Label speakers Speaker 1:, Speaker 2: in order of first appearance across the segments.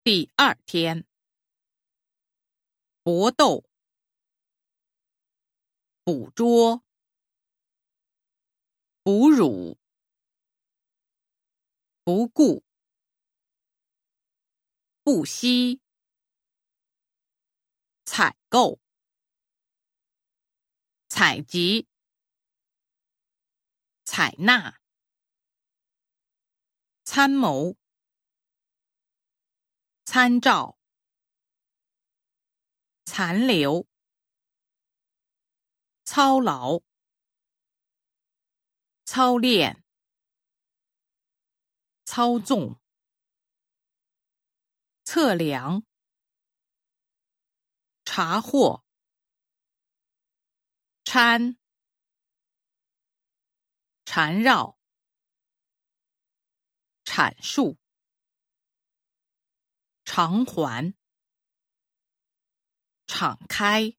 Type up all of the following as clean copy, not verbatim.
Speaker 1: 第2天，搏斗，捕捉，哺乳，不顾，不惜，采购，采集，采纳，参谋，参照，残留，操劳，操练，操纵，测量，查获，掺，缠绕，阐述，偿还，敞开，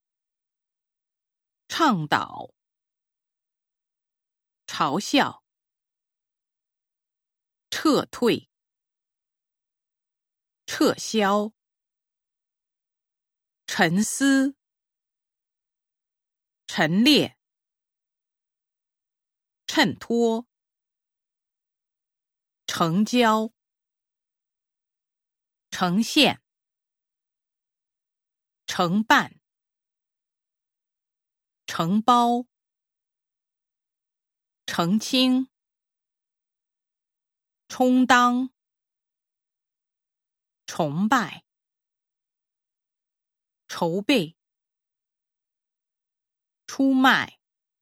Speaker 1: 倡导，嘲笑，撤退，撤销，沉思，陈列，衬托，成交，呈现，承办，承包，澄清，充当，崇拜，筹备，出卖，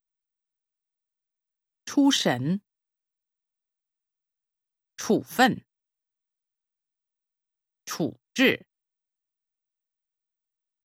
Speaker 1: 出神，处分，处置。